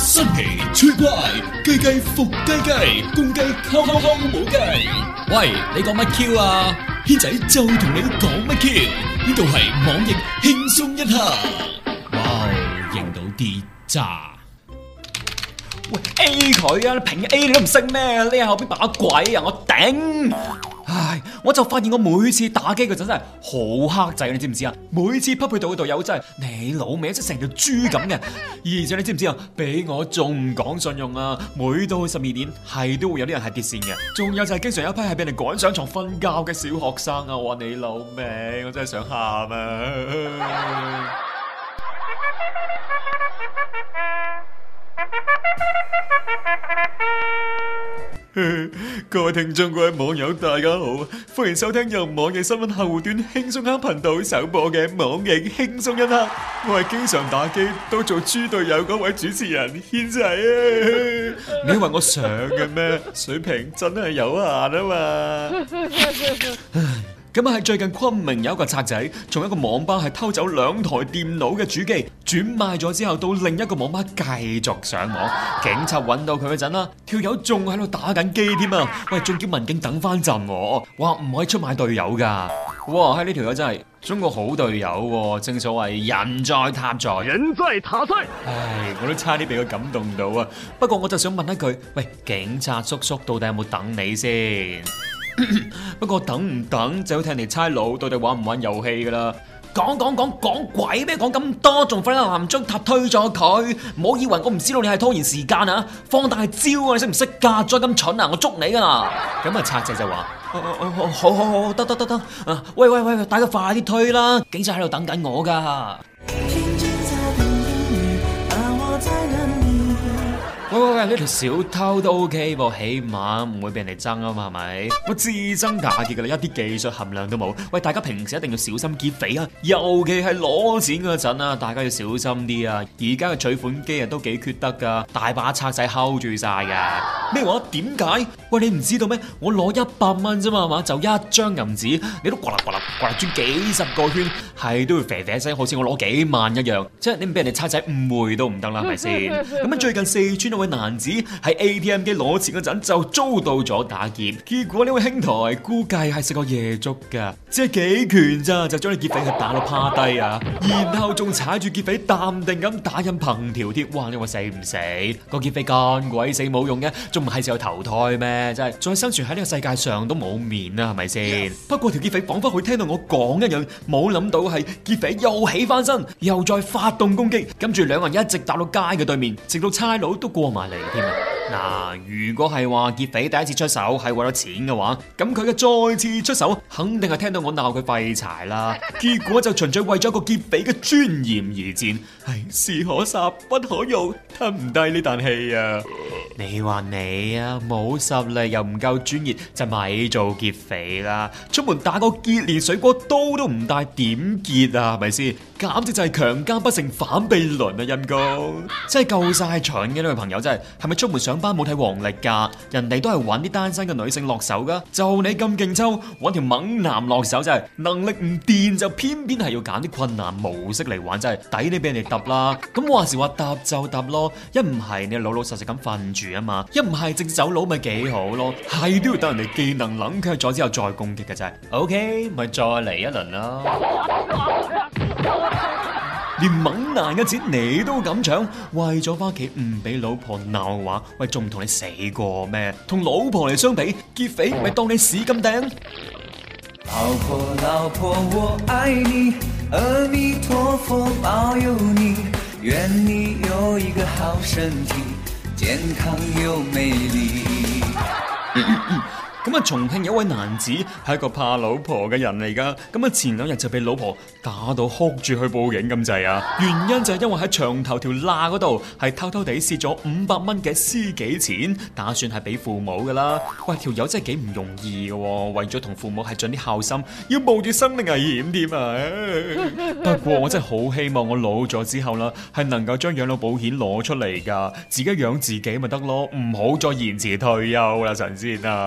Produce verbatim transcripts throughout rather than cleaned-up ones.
新奇趣怪，雞雞伏雞雞，公雞敲敲敲冇雞。喂，你講乜 Q 啊？軒仔就同你講乜 Q？呢度係網易輕鬆一刻。哇，認到啲渣。 喂 A 佢啊，你平 A 你都唔識咩？你喺後邊把鬼啊！我頂！唉，我就發現我每次打機嗰陣真係好克制，你知唔知啊？每次匹配到嘅隊友真係你老味，即係成條豬咁嘅。而且你知唔知啊？比我仲唔講信用啊！每到十二點係都會有啲人係跌線嘅。仲有就係經常有一批係俾人趕上床瞓覺嘅小學生啊！我話你老味，我真係想喊啊！各位聽眾、各位網友，大家好，歡迎收聽由網易新聞客戶端輕鬆一刻頻道首播嘅網易輕鬆一刻。我係經常打機都做豬隊友嗰位主持人軒仔啊！你以為我想嘅咩？水平真係有限啊嘛！咁啊，喺最近昆明有一個賊仔，從一個網吧係偷走兩台電腦嘅主機，轉賣咗之後到另一個網吧繼續上網。警察揾到佢嗰陣啦，條友仲喺度打緊機添啊！喂，仲叫民警等翻陣，話唔可以出賣隊友噶。哇，喺呢條友真係中國好隊友，正所謂人在塔在， 人在塔在。 唉，我都差啲俾佢感動到啊！不過我就想問一句，喂，警察叔叔到底有冇等你先？不過等唔等就要睇你差佬到底玩唔玩遊戲噶啦。講講講講鬼咩？講咁多，仲快啲行將塔推咗佢！唔好以為我唔知道你係拖延時間啊！放大招啊！你識唔識噶？再咁蠢啊！我捉你噶啦！咁啊，賊仔就話：哦哦哦，好好好，得得得得啊！喂喂喂，大家快啲推啦！警察喺度等緊我噶。喂喂喂，呢條小偷都 OK 噃，起碼唔會俾人哋憎啊嘛，係咪？我自憎打劫噶啦，一啲技術含量都冇。喂，大家平時一定要小心劫匪啊，尤其係攞錢嗰陣啊，大家要小心啲啊！而家嘅取款機啊都幾缺德噶，大把賊仔 hold 住晒噶。咩話？點解？喂，你唔知道咩？我攞一百蚊啫嘛，係嘛？就一張銀紙，你都呱啦呱啦呱啦轉幾十個圈，係都會啡啡聲，好似我攞幾萬一樣。即係你唔俾人哋賊仔誤會都唔得啦，係咪先？咁啊，最近四川有位男子喺 A T M 機攞錢嗰陣就遭到咗打劫，結果呢位兄台估計係食過夜粥噶，只係幾拳咋就將你劫匪佢打到趴低啊，然後仲踩住劫匪淡定咁打印憑條貼。哇！你話死唔死？個劫匪咁鬼死冇用嘅，仲唔係時候投胎咩？真係再生存喺呢個世界上都冇面啦，係咪先？不過條劫匪仿佛佢聽到我講一樣，冇諗到係劫匪又起翻身，又再發動攻擊，跟住兩個人一直打到街嘅對面，直到差佬都過埋嚟添啊！嗱，如果係話劫匪第一次出手係為咗錢嘅話，咁佢嘅再次出手肯定係聽到我鬧佢廢柴啦。結果就純粹為咗個劫匪嘅尊嚴而戰，係士可殺不可辱，吞唔低呢啖氣啊！你話你啊，冇實力又唔夠專業，就咪做劫匪啦！出門打個劫連水果刀都唔帶，點劫啊？係咪先？簡直就係強姦不成反被輪啊！陰公真係夠晒蠢嘅呢位朋友，真係係咪出門上班冇睇黃歷噶？人哋都係揾啲單身嘅女性落手噶，就你咁勁抽，揾條猛男落手真係能力唔掂，就偏偏係要揀啲困難模式嚟玩，真係抵你俾人哋揼啦！咁話時話揼就揼咯，一唔係你老老實實咁瞓住啊嘛，一唔係直走佬咪幾好咯，係都要等人哋技能冷卻咗之後再攻擊嘅真係。OK， 咪再嚟一輪啦！連猛男嘅錢你都敢搶，為咗翻屋企唔俾老婆鬧嘅話，喂，仲唔同你死過咩？同老婆嚟相比，劫匪咪當你屎咁掟。 老婆老婆我愛你，阿彌陀佛保佑你，願你有一個好身體，健康又美麗。 咁啊，重慶有一位男子係一個怕老婆嘅人嚟噶，咁啊前兩日就被老婆打到哭住去報警咁滯啊！原因就係因為喺牆頭條罅嗰度係偷偷地蝕咗五百蚊嘅私己錢，打算係俾父母噶啦。喂，條友真係幾唔容易嘅，為咗同父母係盡啲孝心，要冒住生命危險添啊！不過我真係好希望我老咗之後啦，係能夠將養老保險攞出嚟噶，自己養自己咪得咯，唔好再延遲退休啦，神仙啊！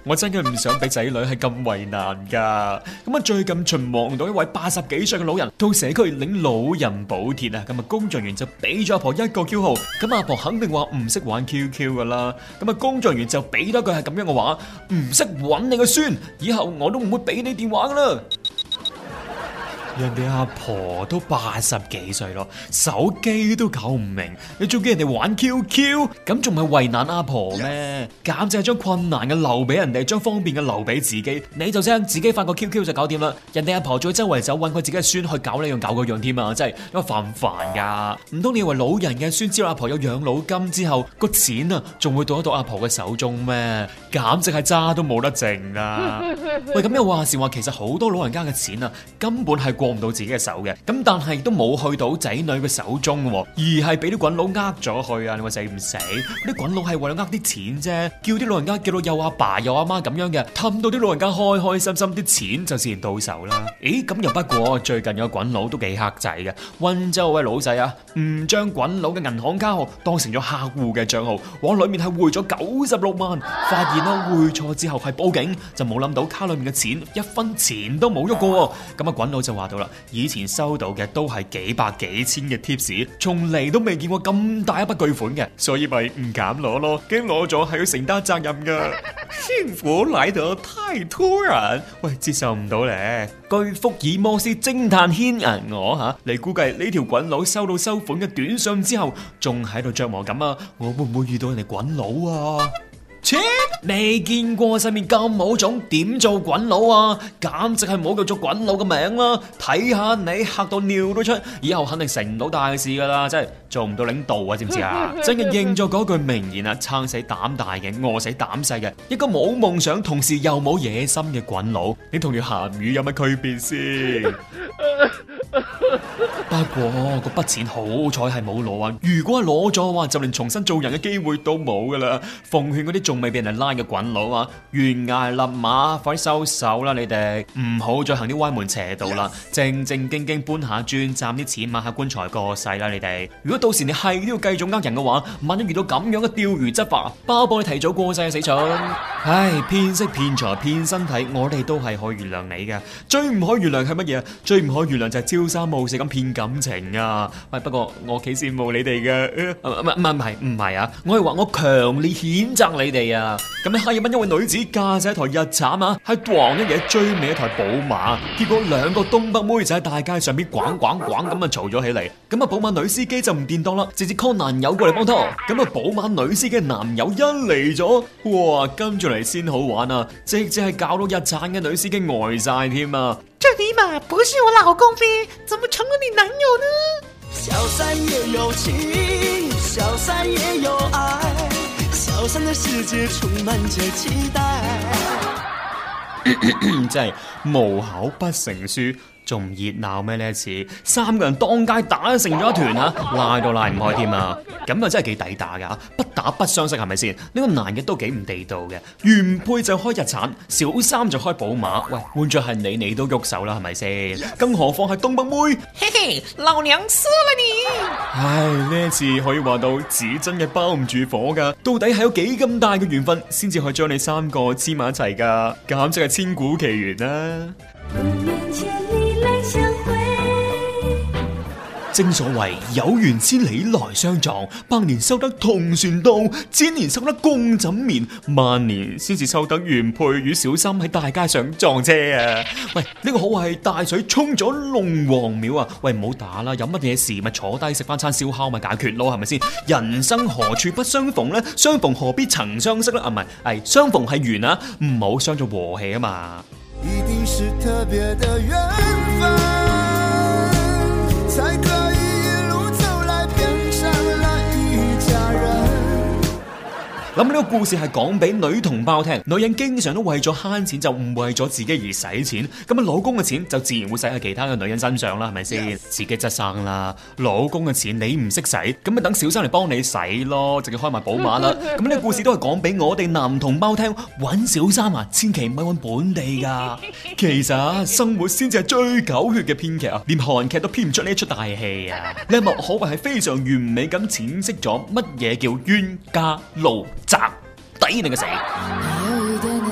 我真係唔想俾仔女係咁為難噶。咁啊，最近巡望到一位八十幾歲嘅老人到社區領老人補貼啊，咁啊工作人員就俾咗阿婆一個 Q 號，咁阿婆肯定話唔識玩 Q Q 噶啦，咁啊工作人員就俾多句係咁樣嘅話，唔識揾你個孫，以後我都唔會俾你電話噶啦。人哋阿婆都八十幾歲咯，手機都搞唔明，你仲叫人哋玩 Q Q， 咁仲唔係為難阿婆咩？簡直係將困難嘅留俾人哋，將方便嘅留俾自己。你就將自己發個 Q Q 就搞掂啦。人哋阿婆再周圍走揾佢自己嘅孫去搞呢樣搞嗰樣添啊！真係因為煩唔煩噶？唔通你以為老人嘅孫知道阿婆有養老金之後，個錢啊仲會到得到阿婆嘅手中咩？簡直係渣都冇得剩啊！喂，咁又話時話，其實好多老人家嘅錢啊，根本係過唔到自己嘅手嘅，咁但係都冇去到仔女嘅手中，而係俾啲滾佬呃咗去啊！你話死唔死？啲滾佬係為咗呃啲錢啫，叫啲老人家叫到有阿爸有阿媽咁樣嘅，氹到啲老人家開開心心，啲錢就自然到手啦。咦，咁又不過最近有個滾佬都幾黑仔嘅，溫州位老細啊，唔將滾佬嘅銀行卡號當成咗客戶嘅賬號，往裏面係匯咗九十六萬，發現啦匯錯之後係報警，就冇諗到卡裏面嘅錢一分錢都冇喐過，咁啊滾佬就話到啦。以前收到嘅都係幾百幾千嘅貼士，從嚟都未見過咁大一筆巨款嘅，所以咪唔敢攞咯，驚攞咗係要承擔責任噶。幸福來得太突然，喂，接受唔到咧。據福爾摩斯偵探牽引我吓，你估計呢條滾佬收到收款嘅短信之後，仲喺度琢磨緊啊，我會唔會遇到人哋滾佬啊？切！未見過世面咁冇種，點做滾佬啊？簡直係冇叫做滾佬嘅名啦！睇下你嚇到尿都出，以後肯定成唔到大事噶啦，真係做唔到領導啊！知唔知啊？真係應咗嗰句名言啊，撐死膽大嘅，餓死膽細嘅，一個冇夢想，同時又冇野心嘅滾佬，你同條鹹魚有乜區別先？不過嗰筆錢好彩係冇攞啊！如果係攞咗嘅話，就連重新做人嘅機會都冇噶啦！奉勸嗰啲仲未俾人拉嘅滾佬啊，懸崖勒馬，快啲收手啦！你哋唔好再行啲歪門邪道啦，正正經經搬下磚，賺啲錢買下棺材過世啦！你哋如果到時你係都要繼續呃人嘅話，萬一遇到咁樣嘅釣魚執法，包保你提早過世啊！死蠢！唉，騙色騙財騙身體，我哋都係可以原諒你嘅，最唔可以原諒係乜嘢？最唔可以原諒就係朝三暮四咁騙感情啊！喂，不過我幾羨慕你哋嘅，唔唔唔係唔係啊！我係話我強烈譴責你哋啊！咁喺哈爾濱一位女子駕駛一台日產啊，喺撞一嘢追尾一台寶馬，結果兩個東北妹就喺大街上邊滾滾滾咁啊嘈咗起嚟。咁啊寶馬女司機就唔掂當啦，直接 call 男友過嚟幫拖。咁啊寶馬女司機嘅男友一嚟咗，哇跟住嚟先好玩啊！直接係搞到日產嘅女司機呆晒添啊！ 這尼瑪不是我老公唄，怎麼成了你男友呢？小三也有情，小三也有愛，小三的世界充滿着期待。 真係無口不成書，仲唔熱鬧咩？呢一次三個人當街打成咗一團啊，拉都拉唔開添啊！咁啊真係幾抵打噶，不打不相識係咪先？呢、這個男嘅都幾唔地道嘅，原配就開日產，小三就開寶馬。喂，換咗係你，你都喐手啦，係咪先？更何況係東北妹， 嘿嘿，老娘輸了你！ 唉，呢一次可以話到紙真嘅包唔住火噶，到底係有幾咁大嘅緣分，先至可以將你三個黐埋一齊噶？簡直係千古奇緣啦！正所謂有緣千里來相撞，百年修得同船渡，千年修得共枕眠，萬年先至修得原配與小三喺大街上撞車啊！喂，呢、這個好係大水沖咗龍王廟啊！喂，唔好打啦，有乜嘢事咪坐低食翻餐燒烤咪解決咯，係咪先？人生何處不相逢呢？相逢何必曾相識呢？啊，唔係，係相逢係緣啊，唔好傷咗和氣啊嘛！ 一定是特別的緣分，才可以一路走來變成了一家人。 咁呢個故事係講俾女同胞聽，女人經常都為咗慳錢就唔為咗自己而使錢，咁啊老公嘅錢就自然會使喺其他嘅女人身上啦，係咪先？Yes. 自己執生啦，老公嘅錢你唔識使，咁咪等小三嚟幫你使咯，直接開埋寶馬啦。咁呢個故事都係講俾我哋男同胞聽，揾小三啊，千祈唔係揾本地噶。其實啊，生活先至係最狗血嘅編劇啊，連韓劇都編唔出呢一出大戲啊。呢一幕可謂係非常完美咁闡釋咗乜嘢叫冤家路窄，抵你個死。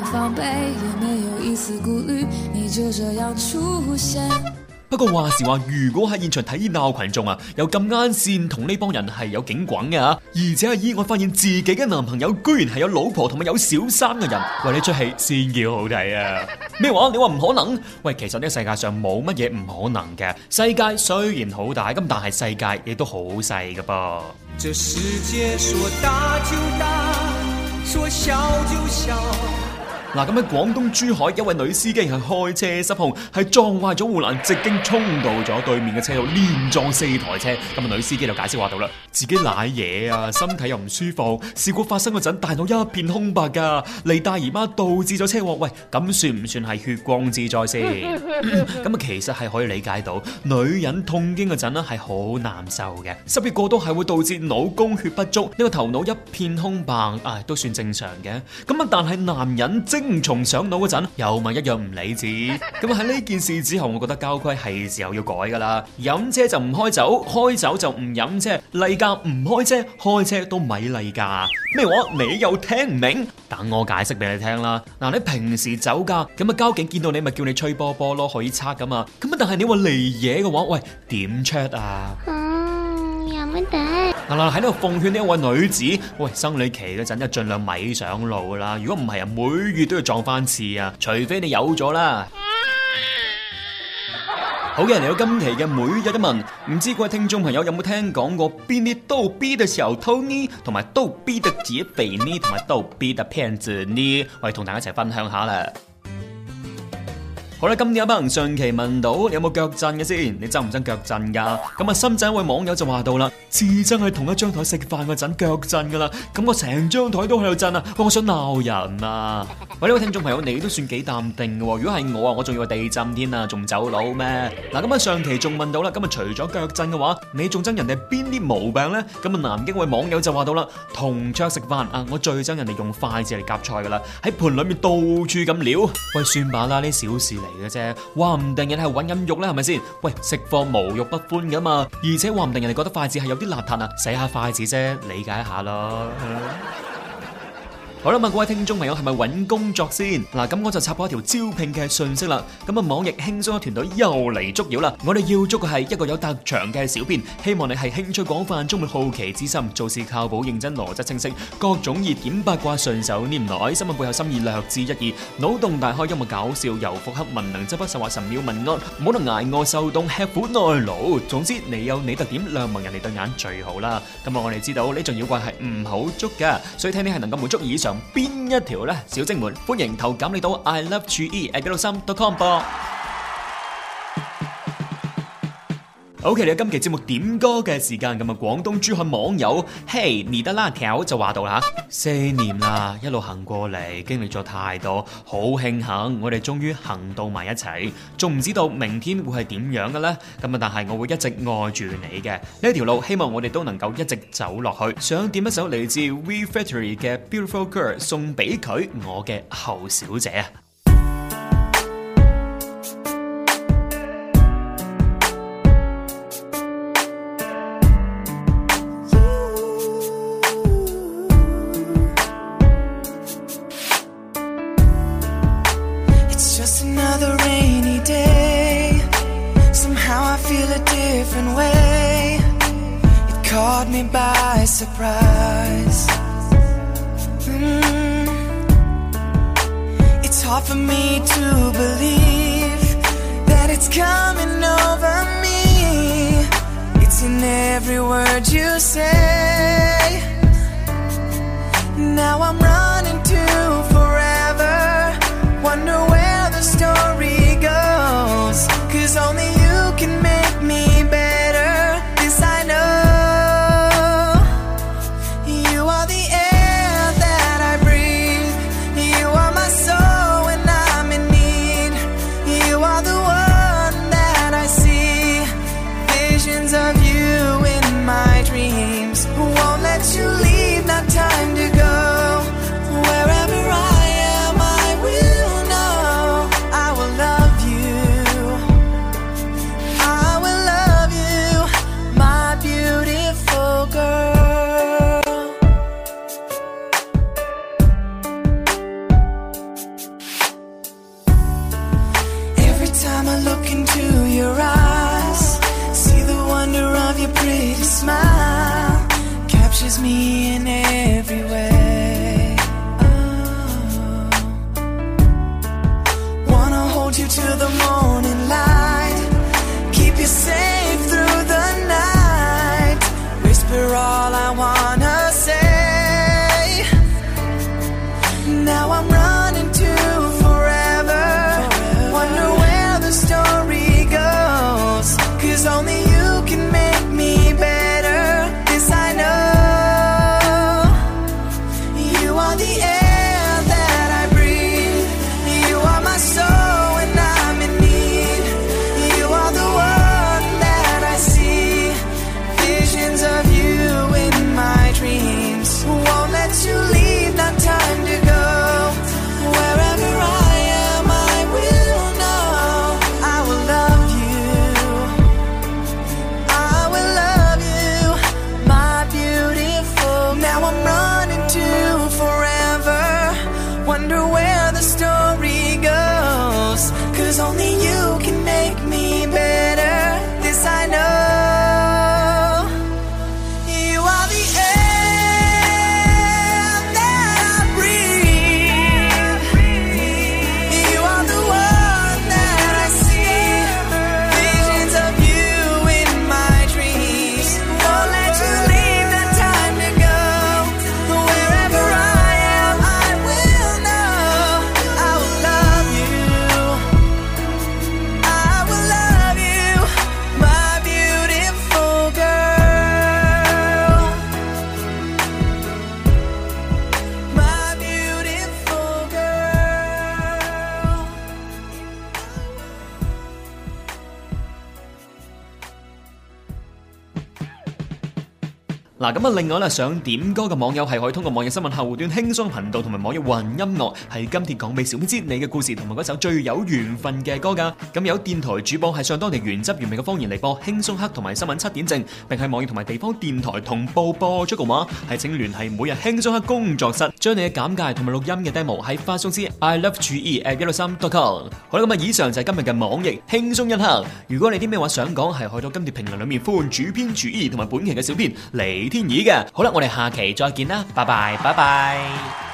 防备，也没有一絲顧慮，你就這樣出現。 不過話時話，如果喺現場睇熱鬧群眾啊，有咁啱線同呢幫人係有警滾嘅吓，而且係意外發現自己嘅男朋友居然係有老婆同埋有小三嘅人，喂，呢出戲先叫好睇啊！咩話？你話唔可能？喂，其實呢個世界上冇乜嘢唔可能嘅。世界雖然好大，咁但係世界亦都好細㗎噃。 這世界說大就大，說小就小。 嗱，咁喺廣東珠海，一位女司機係開車失控，係撞壞咗護欄，直徑衝到咗對面嘅車道，連撞四台車。咁啊，女司機就解釋話到啦，自己瀨嘢啊，身體又唔舒服。事故發生嗰陣，大腦一片空白噶，嚟大姨媽導致咗車禍。喂，咁算唔算係血光之災先？咁啊，其實係可以理解到，女人痛經嗰陣咧係好難受嘅，濕血過多係會導致腦供血不足，呢個頭腦一片空白，啊，都算正常嘅。咁啊，但係男人精精蟲上腦嗰陣，又咪一樣唔理智。咁喺呢件事之後，我覺得交規係時候要改噶啦。飲車就唔開酒，開酒就唔飲車，例假唔開車，開車都咪例假。咩話？你又聽唔明？等我解釋俾你聽啦。嗱，你平時酒駕，咁啊交警見到你咪叫你吹波波咯，可以測噶嘛。咁啊，但係你話嚟嘢嘅話，喂，點 check 啊？ 嗯，有乜得？ 嗱嗱，喺度奉勸呢一位女子，喂，生理期嗰陣就盡量咪上路啦。如果唔係啊，每月都要撞翻次啊，除非你有咗啦。好嘅，嚟到今期嘅每日一問，唔知各位聽眾朋友有冇聽講過邊啲逗逼嘅小偷呢，同埋逗逼嘅劫匪呢，同埋逗逼嘅騙子呢？我哋同大家一齊分享下啦。好啦，今日有班人上期問到你有冇腳震嘅先，你憎唔憎腳震噶？咁啊，深圳一位網友就話到啦，至憎係同一張台食飯嗰陣腳震噶啦，咁我成張台都喺度震啊！我想鬧人啊！喂，呢位聽眾朋友，你都算幾淡定嘅喎，如果係我啊，我仲要地震添啊，仲走佬咩？嗱，咁啊上期仲問到啦，咁啊除咗腳震嘅話，你仲憎人哋邊啲毛病咧？咁啊南京位網友就話到啦，同桌食飯啊，我最憎人哋用筷子嚟夾菜噶啦，喺盤裏面到處咁撩。喂，算吧啦，呢小事嚟嘅啫，話唔定人係揾緊肉咧，係咪先？喂，食貨無肉不歡噶嘛，而且話唔定人哋覺得筷子係有啲邋遢啊，洗下筷子啫，理解一下咯。好啦，咁各位聽眾朋友係咪揾工作先？嗱，咁我就插播一條招聘嘅信息啦。咁啊，網易輕鬆嘅團隊又嚟捉妖啦！我哋要捉嘅係一個有特長嘅小編，希望你係興趣廣泛，充滿好奇之心，做事靠譜認真，邏輯清晰，各種熱點八卦順手拈來，新聞背後心意略知一二，腦洞大開，幽默搞笑，又複刻文能執筆，實話神妙文案，唔好能捱餓受凍，吃苦耐勞。總之，你有你特點，亮盲人哋對眼最好啦。咁啊，我哋知道呢種妖怪係唔好捉噶，所以睇你係能夠滿足以上邊一條呢？小精們歡迎投簡歷到 I love G E at 九六三 dot com 噃。OK， 你今期節目點歌嘅時間，咁啊，廣東珠海網友嘿你的辣條就話到啦，四年啦，一路行過嚟，經歷咗太多，好慶幸我哋終於行到埋一齊，仲唔知道明天會係點樣嘅呢？咁啊，但係我會一直愛住你嘅呢條路，希望我哋都能夠一直走落去。想點一首嚟自 We Factory 嘅 Beautiful Girl 送俾佢，我嘅後小姐啊！ Caught me by surprise. Mm. It's hard for me to believe that it's coming over me. It's in every word you say. Now I'm running to forever. Wonder where the story goes. 'Cause only you can make me better. This I know. Of you in my dreams, won't let you me in every way. Oh. Wanna hold you till the morning light, keep you safe through the night, whisper all I wanna say. Now I'm running to forever, wonder where the story goes, 'cause only you can make me better, this I know. You are the air that I breathe, you are my soul when I'm in need, you are the one that I see, visions of you in my dreams. Won't let you leave, not time to go. Wherever I am, I will know I will love you, I will love you, my beautiful. Now I'm running to forever, wonder where the story goes, 'cause only you can make me better, this I know. You are the air that I breathe, you are the one that I see, visions of you in my dreams. Won't let you leave, not time to go. Wherever I am, I will know I will love you, I will love you, my beautiful girl, my beautiful girl. 嗱，咁啊，另外咧想點歌嘅網友係可以通過網易新聞客戶端輕鬆頻道同埋網易雲音樂，係今帖講俾小編知你嘅故事同埋嗰首最有緣分嘅歌㗎。咁有電台主播係上當地原汁原味嘅方言嚟播輕鬆黑同埋新聞七點正，並喺網易同埋地方電台同步播出嘅話，係請聯繫每日輕鬆黑工作室，將你嘅簡介同埋錄音嘅 demo 喺發送至 i love g e at 一六三 dot com。好啦，咁啊，以上就係今日嘅網易輕鬆一刻。如果你啲咩話想講，係去到今帖評論裏面呼喚主編主義同埋本期嘅小編李天意嘅。好啦，我哋下期再見啦，拜拜，拜拜。